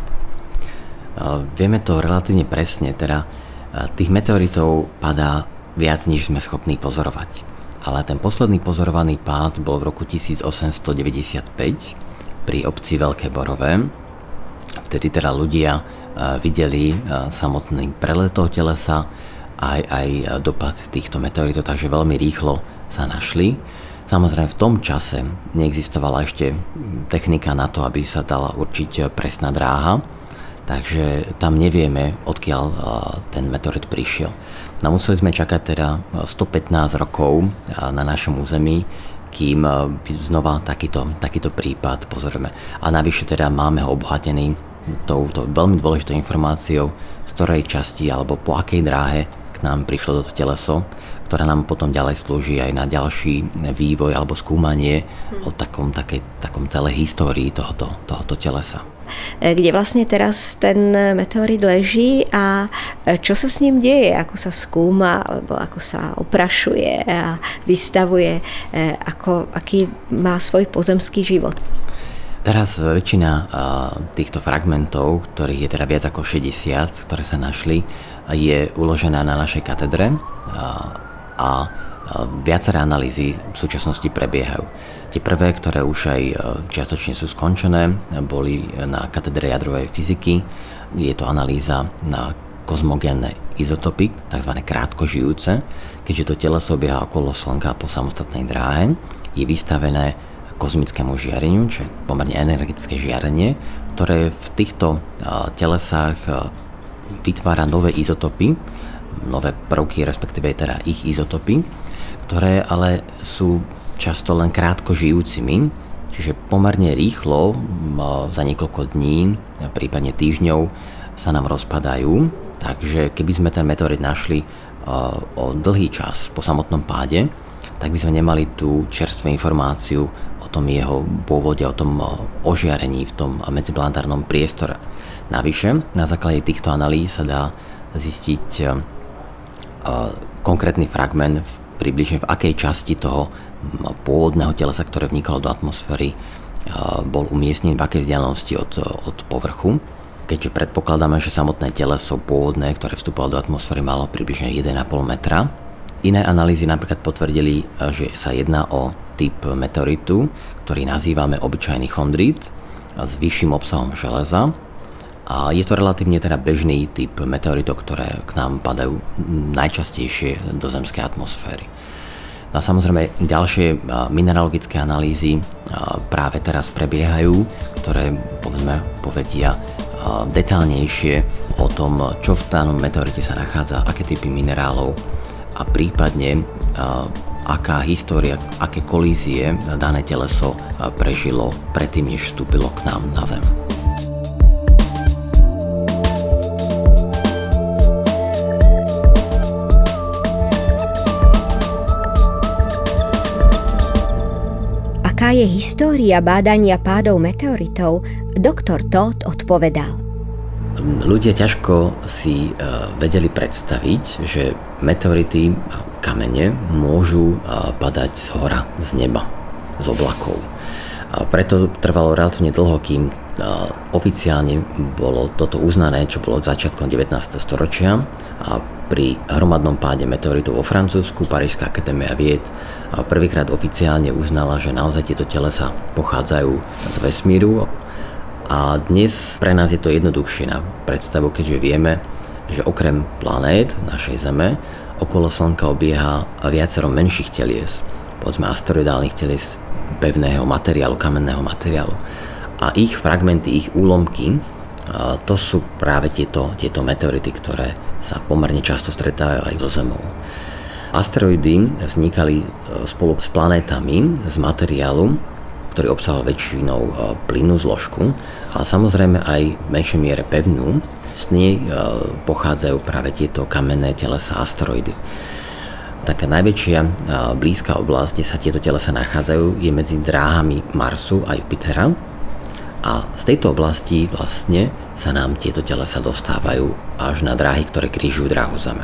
Speaker 4: Vieme to relatívne presne, teda tých meteoritov padá viac, než sme schopní pozorovať. Ale ten posledný pozorovaný pád bol v roku tisícosemstodeväťdesiatpäť pri obci Veľké Borové. Vtedy teda ľudia videli samotný prelet toho telesa, aj, aj dopad týchto meteoritov, takže veľmi rýchlo sa našli. Samozrejme v tom čase neexistovala ešte technika na to, aby sa dala určiť presná dráha, takže tam nevieme, odkiaľ ten meteorit prišiel. No museli sme čakať teda stopätnásť rokov na našom území, kým znova takýto, takýto prípad pozorujeme. A navyše teda máme ho obohatený touto veľmi dôležitou informáciou, z ktorej časti alebo po akej dráhe k nám prišlo toto teleso, ktorá nám potom ďalej slúži aj na ďalší vývoj alebo skúmanie o takom, takej, takom celej histórii tohoto, tohoto telesa.
Speaker 2: Kde vlastne teraz ten meteorit leží a čo sa s ním deje, ako sa skúma alebo ako sa oprašuje a vystavuje, ako, aký má svoj pozemský život.
Speaker 4: Teraz väčšina týchto fragmentov, ktorých je teda viac ako šesťdesiat, ktoré sa našli, je uložená na našej katedre a viaceré analýzy v súčasnosti prebiehajú. Tie prvé, ktoré už aj čiastočne sú skončené, boli na katedre jadrovej fyziky. Je to analýza na kozmogénne izotopy, tzv. Krátkožijúce. Keďže to teleso obieha okolo Slnka po samostatnej dráhe, je vystavené kozmickému žiareniu, čo je pomerne energetické žiarenie, ktoré v týchto telesách vytvára nové izotopy, nové prvky, respektíve teda ich izotopy, ktoré ale sú často len krátko žijúcimi, čiže pomerne rýchlo, za niekoľko dní, prípadne týždňov, sa nám rozpadajú. Takže keby sme ten meteorit našli o dlhý čas po samotnom páde, tak by sme nemali tú čerstvú informáciu o tom jeho pôvode, o tom ožiarení v tom medziplanetárnom priestore. Navyše, na základe týchto analýz sa dá zistiť konkrétny fragment približne v akej časti toho pôvodného telesa, ktoré vnikalo do atmosféry, bol umiestnený, v akej vzdialenosti od, od povrchu. Keďže predpokladáme, že samotné teleso pôvodné, ktoré vstupovalo do atmosféry, malo približne jeden a pol metra. Iné analýzy napríklad potvrdili, že sa jedná o typ meteoritu, ktorý nazývame obyčajný chondrít s vyšším obsahom železa. A je to relatívne teda bežný typ meteoritov, ktoré k nám padajú najčastejšie do zemskej atmosféry. No a samozrejme ďalšie mineralogické analýzy práve teraz prebiehajú, ktoré povedzme povedia detailnejšie o tom, čo v danom meteorite sa nachádza, aké typy minerálov a prípadne aká história, aké kolízie dané teleso prežilo predtým, než vstúpilo k nám na Zem.
Speaker 2: Aká je história bádania pádov meteoritov, doktor Todt odpovedal.
Speaker 4: Ľudia ťažko si vedeli predstaviť, že meteority a kamene môžu padať z hora, z neba, z oblakov. A preto trvalo relatívne dlho, kým oficiálne bolo toto uznané, čo bolo od začiatkom devätnásteho storočia. A pri hromadnom páde meteoritov vo Francúzsku Parížska akadémia vied prvýkrát oficiálne uznala, že naozaj tieto telesá pochádzajú z vesmíru. A dnes pre nás je to jednoduchšie na predstavu, keďže vieme, že okrem planét našej Zeme okolo Slnka obieha viacero menších telies, povedzme asteroidálnych telies pevného materiálu, kamenného materiálu. A ich fragmenty, ich úlomky, to sú práve tieto, tieto meteority, ktoré sa pomerne často stretávajú aj so Zemou. Asteroidy vznikali spolu s planétami z materiálu, ktorý obsahoval väčšinou plynnú zložku, ale samozrejme aj v menšej miere pevnú. Z nej pochádzajú práve tieto kamenné telesá, asteroidy. Taká najväčšia blízka oblasť, kde sa tieto telesá nachádzajú, je medzi dráhami Marsu a Jupitera. A z tejto oblasti vlastne sa nám tieto telesa dostávajú až na dráhy, ktoré križujú dráhu Zeme.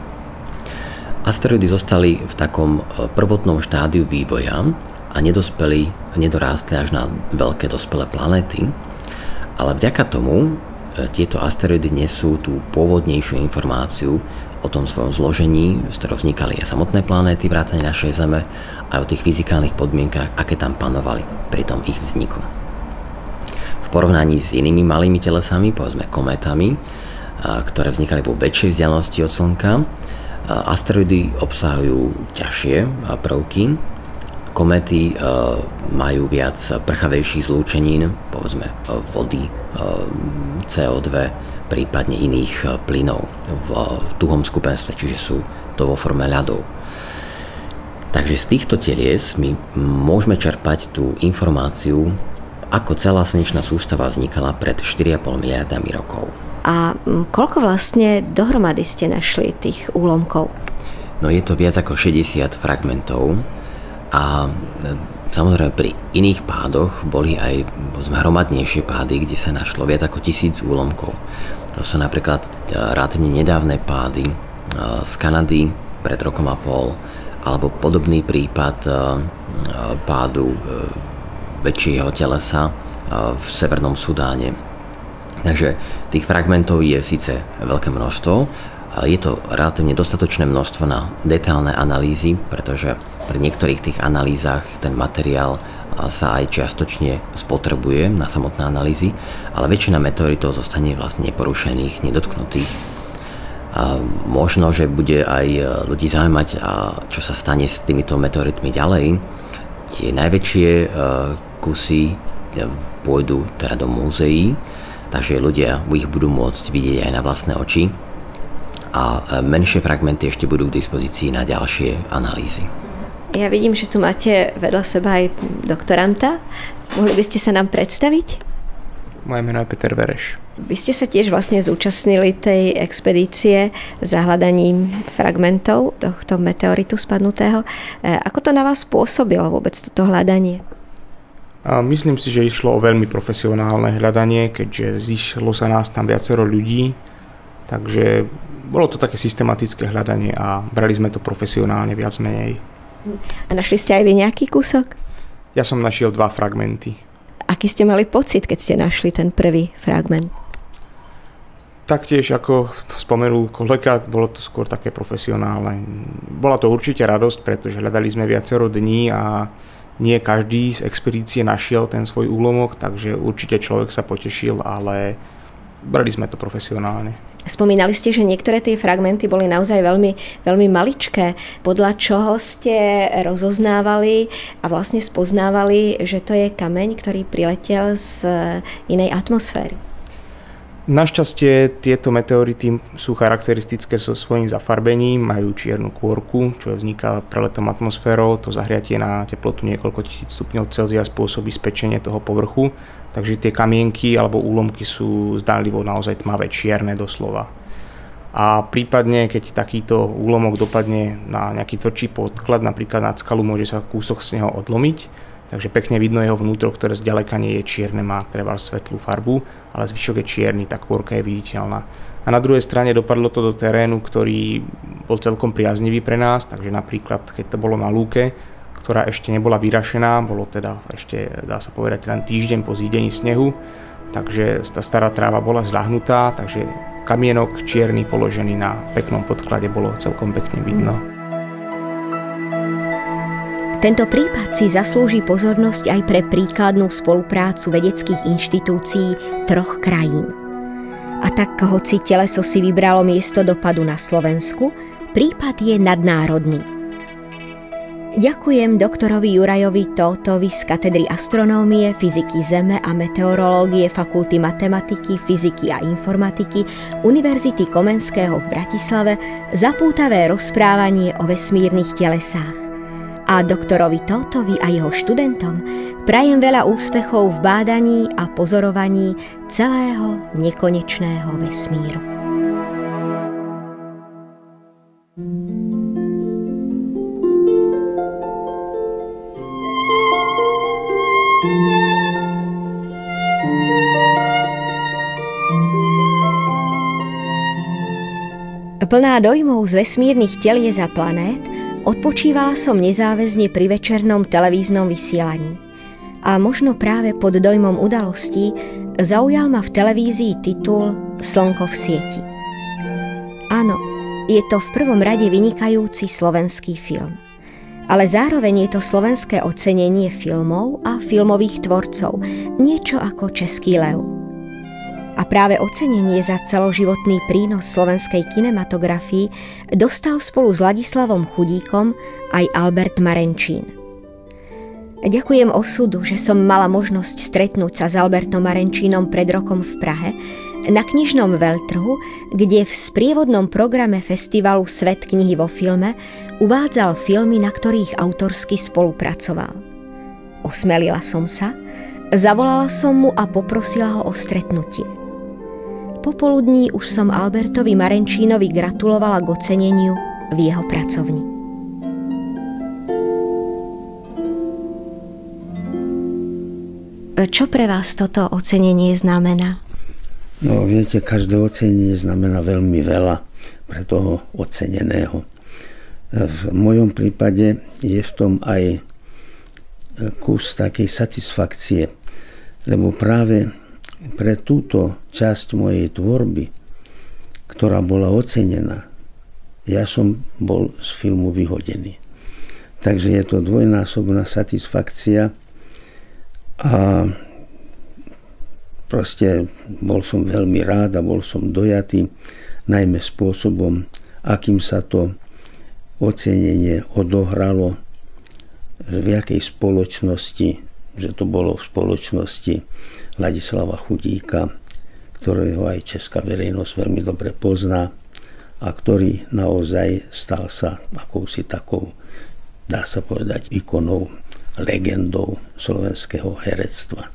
Speaker 4: Asteroidy zostali v takom prvotnom štádiu vývoja a nedospeli, nedorástli až na veľké dospelé planéty, ale vďaka tomu tieto asteroidy nesú tú pôvodnejšiu informáciu o tom svojom zložení, z ktorého vznikali aj samotné planéty vrátane našej Zeme, aj o tých fyzikálnych podmienkach, aké tam panovali pri tom ich vzniku. V porovnaní s inými malými telesami, povedzme kométami, ktoré vznikali vo väčšej vzdialenosti od Slnka, asteroidy obsahujú ťažšie prvky. Kométy majú viac prchavejších zlúčenín, povedzme vody, cé ó dva, prípadne iných plynov v tuhom skupenstve, čiže sú to vo forme ľadov. Takže z týchto telies my môžeme čerpať tú informáciu, ako celá slnečná sústava vznikala pred štyri a pol miliardami rokov.
Speaker 2: A koľko vlastne dohromady ste našli tých úlomkov?
Speaker 4: No je to viac ako šesťdesiat fragmentov a samozrejme pri iných pádoch boli aj hromadnejšie pády, kde sa našlo viac ako tisíc úlomkov. To sú napríklad relatívne nedávne pády z Kanady pred rokom a pol, alebo podobný prípad pádu väčšieho telesa v Severnom Sudáne. Takže tých fragmentov je síce veľké množstvo, je to relatívne dostatočné množstvo na detailné analýzy, pretože pri niektorých tých analýzach ten materiál sa aj čiastočne spotrebuje na samotné analýzy, ale väčšina meteoritov zostane vlastne neporušených, nedotknutých. A možno, že bude aj ľudí zaujímať, čo sa stane s týmito meteoritmi ďalej. Tie najväčšie kusy pôjdu teda do múzeí, takže ľudia ich budú môcť vidieť aj na vlastné oči a menšie fragmenty ešte budú k dispozícii na ďalšie analýzy.
Speaker 2: Ja vidím, že tu máte vedľa seba aj doktoranta. Mohli by ste sa nám predstaviť?
Speaker 5: Moje meno je Peter Vereš.
Speaker 2: Vy ste sa tiež vlastne zúčastnili tej expedície za hľadaním fragmentov tohto meteoritu spadnutého. Ako to na vás pôsobilo vôbec toto hľadanie?
Speaker 5: A myslím si, že išlo o veľmi profesionálne hľadanie, keďže zišlo sa nás tam viacero ľudí, takže bolo to také systematické hľadanie a brali sme to profesionálne viac menej.
Speaker 2: A našli ste aj vy nejaký kúsok?
Speaker 5: Ja som našiel dva fragmenty.
Speaker 2: Aký ste mali pocit, keď ste našli ten prvý fragment?
Speaker 5: Taktiež, ako spomenul kolega, bolo to skôr také profesionálne. Bola to určite radosť, pretože hľadali sme viacero dní a nie každý z expedície našiel ten svoj úlomok, takže určite človek sa potešil, ale brali sme to profesionálne.
Speaker 2: Spomínali ste, že niektoré tie fragmenty boli naozaj veľmi, veľmi maličké. Podľa čoho ste rozoznávali a vlastne spoznávali, že to je kameň, ktorý priletel z inej atmosféry?
Speaker 5: Našťastie tieto meteority sú charakteristické so svojím zafarbením, majú čiernu kôrku, čo vzniká preletom atmosférou. To zahriatie na teplotu niekoľko tisíc stupňov Celzia spôsobí spečenie toho povrchu. Takže tie kamienky alebo úlomky sú zdánlivo naozaj tmavé, čierne doslova. A prípadne, keď takýto úlomok dopadne na nejaký tvrdší podklad, napríklad na skalu, môže sa kúsok z neho odlomiť. Takže pekne vidno jeho vnútro, ktoré zďaleka nie je čierne, má treba svetlú farbu, ale zvyšok je čierny, tá kôrka je viditeľná. A na druhej strane dopadlo to do terénu, ktorý bol celkom priaznivý pre nás, takže napríklad, keď to bolo na lúke, ktorá ešte nebola vyrašená, bolo teda ešte, dá sa povedať, len týždeň po zídení snehu, takže tá stará tráva bola zľahnutá, takže kamienok čierny položený na peknom podklade bolo celkom pekne vidno.
Speaker 2: Tento prípad si zaslúži pozornosť aj pre príkladnú spoluprácu vedeckých inštitúcií troch krajín. A tak, hoci teleso si vybralo miesto dopadu na Slovensku, prípad je nadnárodný. Ďakujem doktorovi Jurajovi Tótovi z katedry astronómie, fyziky Zeme a meteorológie Fakulty matematiky, fyziky a informatiky Univerzity Komenského v Bratislave za pútavé rozprávanie o vesmírnych telesách. A doktorovi Tótovi a jeho študentom prajem veľa úspechov v bádaní a pozorovaní celého nekonečného vesmíru. Plná dojmov z vesmírnych telies a planét, odpočívala som nezáväzne pri večernom televíznom vysielaní. A možno práve pod dojmom udalostí zaujal ma v televízii titul Slnko v sieti. Áno, je to v prvom rade vynikajúci slovenský film. Ale zároveň je to slovenské ocenenie filmov a filmových tvorcov, niečo ako Český lev. A práve ocenenie za celoživotný prínos slovenskej kinematografii dostal spolu s Ladislavom Chudíkom aj Albert Marenčín. Ďakujem osudu, že som mala možnosť stretnúť sa s Albertom Marenčínom pred rokom v Prahe na knižnom veľtrhu, kde v sprievodnom programe festivalu Svet knihy vo filme uvádzal filmy, na ktorých autorsky spolupracoval. Osmelila som sa, zavolala som mu a poprosila ho o stretnutie. Popoludní už som Albertovi Marenčínovi gratulovala k oceneniu v jeho pracovni. Čo pre vás toto ocenenie znamená?
Speaker 6: No viete, každé ocenenie znamená veľmi veľa pre toho oceneného. V mojom prípade je v tom aj kus takej satisfakcie, lebo práve pre túto časť mojej tvorby, ktorá bola ocenená, ja som bol z filmu vyhodený. Takže je to dvojnásobná satisfakcia a proste bol som veľmi rád a bol som dojatý, najmä spôsobom, akým sa to ocenenie odohralo, v jakej spoločnosti, že to bolo v spoločnosti Ladislava Chudíka, ktorého aj česká verejnosť veľmi dobre pozná a ktorý naozaj stal sa akousi takou, dá sa povedať, ikonou, legendou slovenského herectva.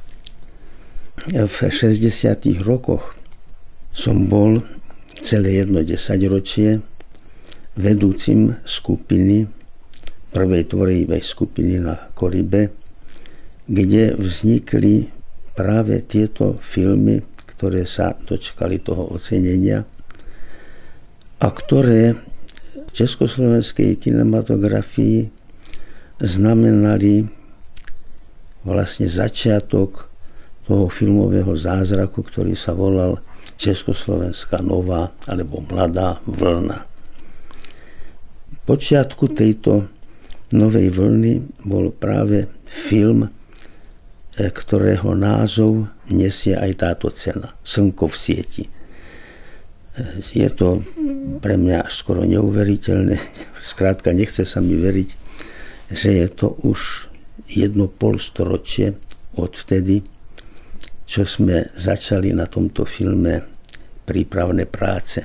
Speaker 6: V šesťdesiatych rokoch som bol celé jedno desaťročie vedúcim skupiny, prvej tvorivej skupiny na Koribe, kde vznikli práve tieto filmy, ktoré sa dočkali toho ocenenia a ktoré v československej kinematografii znamenali vlastne začiatok toho filmového zázraku, ktorý sa volal Československá nová alebo mladá vlna. V počiatku tejto novej vlny bol práve film, ktorého názov nesie aj táto cena, Slnko v sieti. Je to pre mňa skoro neuveriteľné, skrátka nechce sa mi veriť, že je to už jedno polstoročie od vtedy, čo sme začali na tomto filme prípravné práce.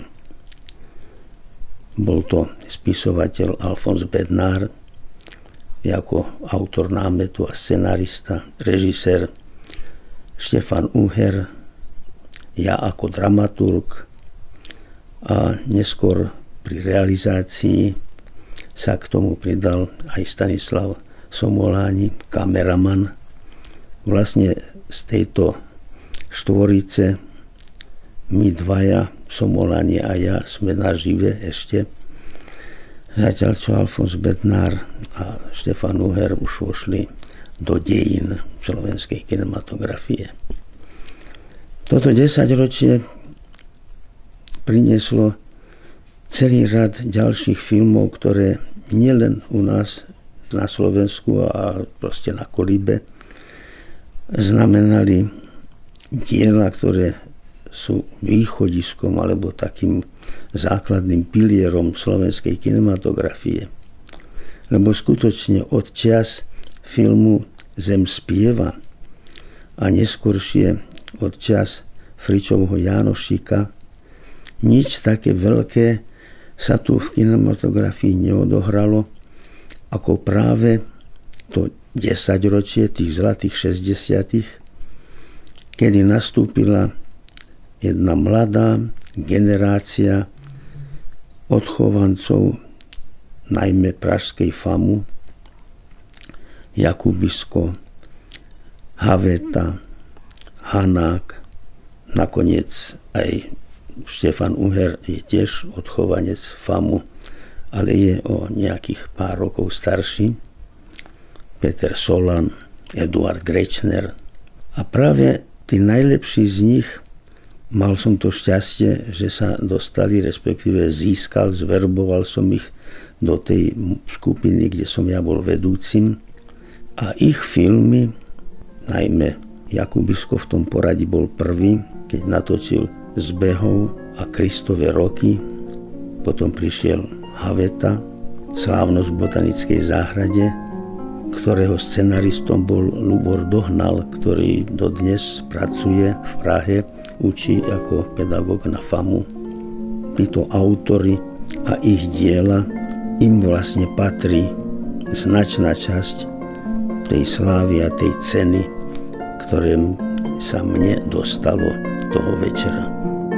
Speaker 6: Bol to spisovateľ Alfons Bednár, ako autor námetu a scenárista, režisér Štefan Uher, ja ako dramaturg a neskôr pri realizácii sa k tomu pridal aj Stanislav Somoláni, kameraman. Vlastne z tejto štvorice my dvaja, Somoláni a ja, sme nažive ešte. Zatiaľ, čo Alfons Bednár a Štefan Uher už vošli do dejín slovenskej kinematografie. Toto desaťročie prinieslo celý rad ďalších filmov, ktoré nielen u nás na Slovensku a proste na Kolibe znamenali diela, ktoré sú východiskom alebo takým základným pilierom slovenskej kinematografie. Lebo skutočne od čias filmu Zem spieva a neskôršie od čias Fričovho Jánošíka nič také veľké sa tu v kinematografii neodohralo ako práve to desaťročie tých zlatých šesťdesiatych, kedy nastúpila jedna mladá generácia odchovancov najmä pražskej famu, Jakubisko, Haveta, Hanák, nakoniec aj Štefan Uher je tiež odchovanec FAMu, ale je o nejakých pár rokov starší. Peter Solan, Eduard Grečner. A práve tí najlepší z nich, mal som to šťastie, že sa dostali, respektíve získal, zverboval som ich do tej skupiny, kde som ja bol vedúcim. A ich filmy, najmä Jakubisko v tom poradí bol prvý, keď natočil Zbehov a Kristove roky. Potom prišiel Haveta, Slávnosť v botanickej záhrade, ktorého scenaristom bol Lubor Dohnal, ktorý dodnes pracuje v Prahe, učí ako pedagóg na FAMu. Títo autori a ich diela, im vlastne patrí značná časť tej slávy a tej ceny, ktoré sa mne dostalo toho večera.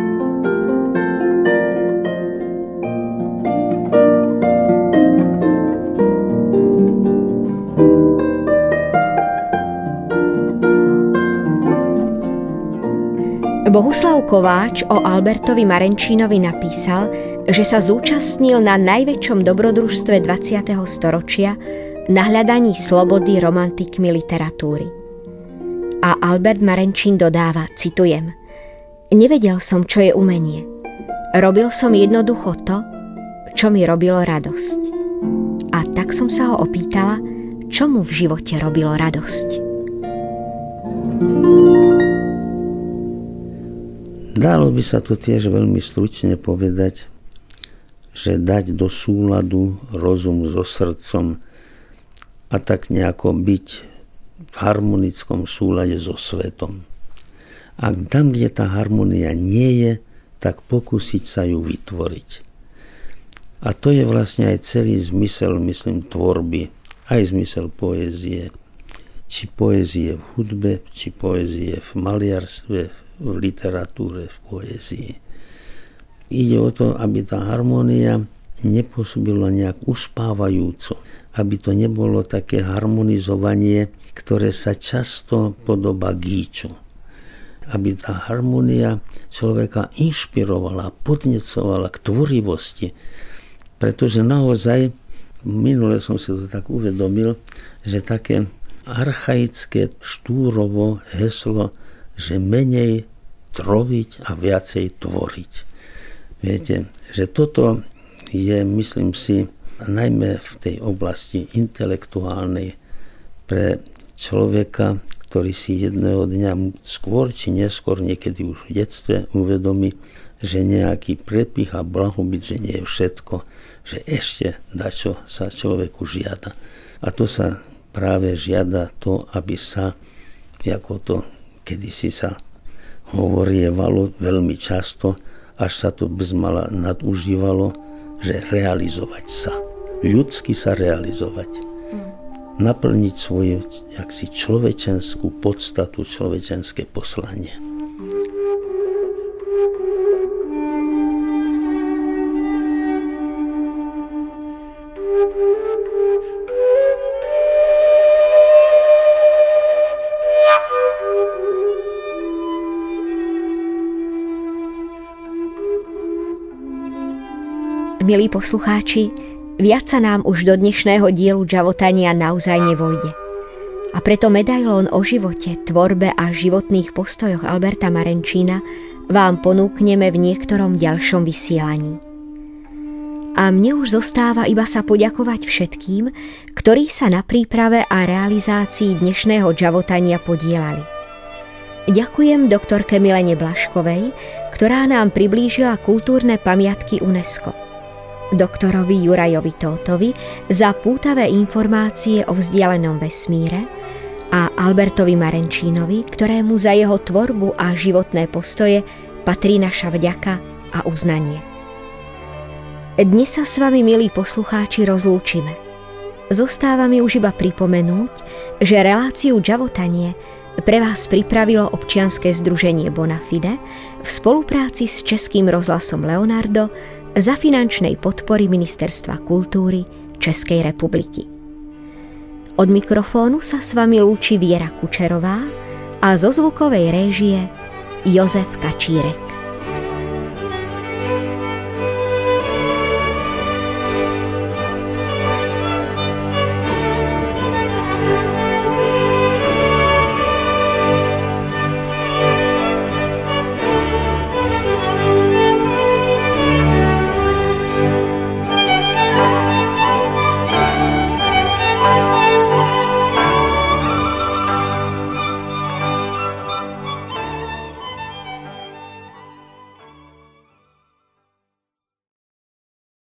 Speaker 2: Bohuslav Kováč o Albertovi Marenčínovi napísal, že sa zúčastnil na najväčšom dobrodružstve dvadsiateho storočia na hľadaní slobody romantikmi literatúry. A Albert Marenčín dodáva, citujem: Nevedel som, čo je umenie. Robil som jednoducho to, čo mi robilo radosť. A tak som sa ho opýtala, čo mu v živote robilo radosť.
Speaker 6: Dalo by sa to tiež veľmi stručne povedať, že dať do súladu rozum so srdcom a tak nejako byť v harmonickom súlade so svetom. A tam, kde tá harmonia nie je, tak pokúsiť sa ju vytvoriť. A to je vlastne aj celý zmysel, myslím, tvorby, aj zmysel poézie. Či poézie v hudbe, či poézie v maliarstve, v literatúre, v poézii. Ide o to, aby tá harmónia nepôsobila nejak uspávajúco, aby to nebolo také harmonizovanie, ktoré sa často podobá gíču. Aby tá harmónia človeka inšpirovala, podnecovala k tvorivosti. Pretože naozaj, minule som si to tak uvedomil, že také archaické štúrovo heslo, že menej troviť a viacej tvoriť. Viete, že toto je, myslím si, najmä v tej oblasti intelektuálnej pre človeka, ktorý si jedného dňa skôr či neskôr, niekedy už v detstve, uvedomí, že nejaký prepich a blahobyt, že nie je všetko, že ešte dačo sa človeku žiada. A to sa práve žiada to, aby sa, ako to kedysi sa hovorievalo veľmi často, až sa to bezmala nadužívalo, že realizovať sa. Ľudsky sa realizovať. Naplniť svoju jaksi človečenskú podstatu, človečenské poslanie.
Speaker 2: Milí poslucháči, viac sa nám už do dnešného dielu Džavotania naozaj nevojde. A preto medailón o živote, tvorbe a životných postojoch Alberta Marenčína vám ponúkneme v niektorom ďalšom vysielaní. A mne už zostáva iba sa poďakovať všetkým, ktorí sa na príprave a realizácii dnešného Džavotania podielali. Ďakujem doktorke Milene Blaškovej, ktorá nám priblížila kultúrne pamiatky UNESCO. Doktorovi Jurajovi Tótovi za pútavé informácie o vzdialenom vesmíre a Albertovi Marenčínovi, ktorému za jeho tvorbu a životné postoje patrí naša vďaka a uznanie. Dnes sa s vami, milí poslucháči, rozlúčime. Zostáva mi už iba pripomenúť, že reláciu Džavotanie pre vás pripravilo občianske združenie Bonafide v spolupráci s Českým rozhlasom Leonardo za finančnej podpory Ministerstva kultúry Českej republiky. Od mikrofónu sa s vami lúči Viera Kučerová a zo zvukovej réžie Jozef Kačírek.